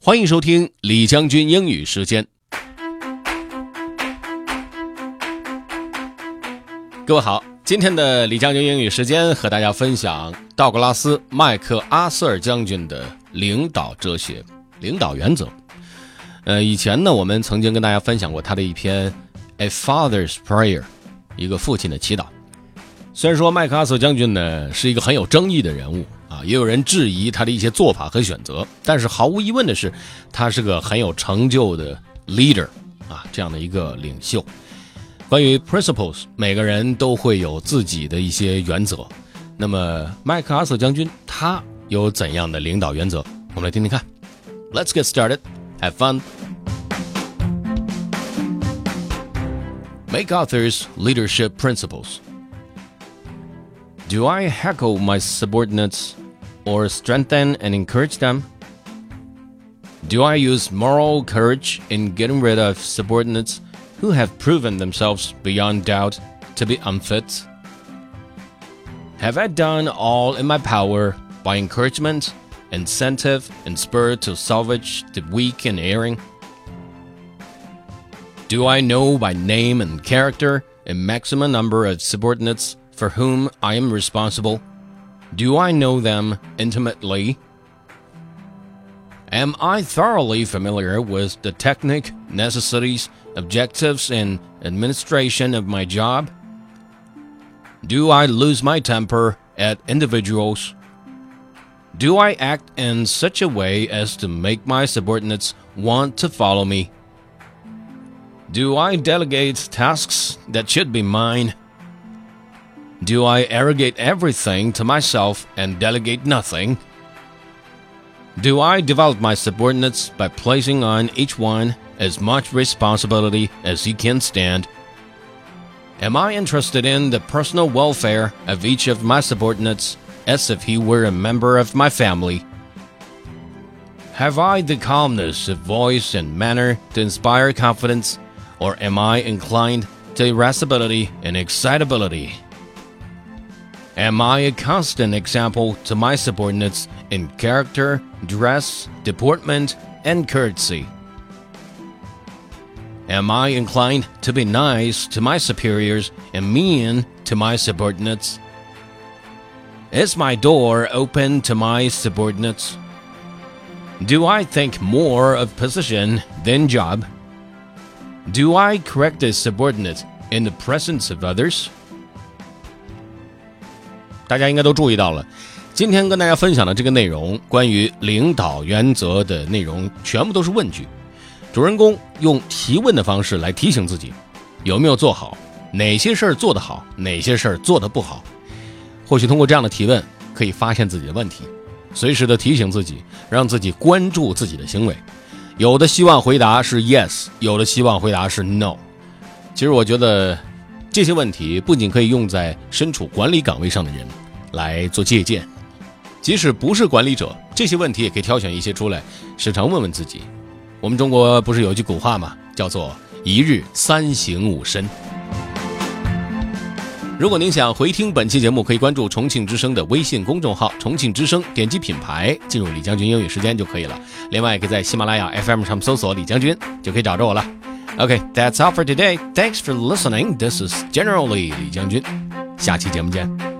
欢迎收听李将军英语时间。各位好，今天的李将军英语时间和大家分享道格拉斯·麦克阿瑟尔将军的领导哲学、领导原则。以前呢，我们曾经跟大家分享过他的一篇 A Father's Prayer， 一个父亲的祈祷。虽然说麦克阿瑟将军呢是一个很有争议的人物啊，也有人质疑他的一些做法和选择，但是毫无疑问的是，他是个很有成就的 leader 啊，这样的一个领袖。关于 principles， 每个人都会有自己的一些原则。那么麦克阿瑟将军他有怎样的领导原则？我们来听听看。Let's get started. Have fun. MacArthur's leadership principles.Do I heckle my subordinates or strengthen and encourage them? Do I use moral courage in getting rid of subordinates who have proven themselves beyond doubt to be unfit? Have I done all in my power by encouragement, incentive, and spur to salvage the weak and erring? Do I know by name and character a maximum number of subordinates?For whom I am responsible? Do I know them intimately? Am I thoroughly familiar with the technique, necessities, objectives, and administration of my job? Do I lose my temper at individuals? Do I act in such a way as to make my subordinates want to follow me? Do I delegate tasks that should be mine?Do I arrogate everything to myself and delegate nothing? Do I develop my subordinates by placing on each one as much responsibility as he can stand? Am I interested in the personal welfare of each of my subordinates as if he were a member of my family? Have I the calmness of voice and manner to inspire confidence, or am I inclined to irascibility and excitability?Am I a constant example to my subordinates in character, dress, deportment, and courtesy? Am I inclined to be nice to my superiors and mean to my subordinates? Is my door open to my subordinates? Do I think more of position than job? Do I correct a subordinate in the presence of others?大家应该都注意到了，今天跟大家分享的这个内容，关于领导原则的内容，全部都是问句。主人公用提问的方式来提醒自己，有没有做好，哪些事儿做得好，哪些事儿做得不好。或许通过这样的提问，可以发现自己的问题，随时的提醒自己，让自己关注自己的行为。有的希望回答是 yes， 有的希望回答是 no。其实我觉得这些问题不仅可以用在身处管理岗位上的人来做借鉴，即使不是管理者，这些问题也可以挑选一些出来，时常问问自己。我们中国不是有句古话吗？叫做一日三省吾身。如果您想回听本期节目，可以关注重庆之声的微信公众号重庆之声，点击品牌进入李将军英语时间就可以了。另外也可以在喜马拉雅 FM 上搜索李将军就可以找着我了。Okay, that's all for today. Thanks for listening. This is Generally 李将军。下期节目见。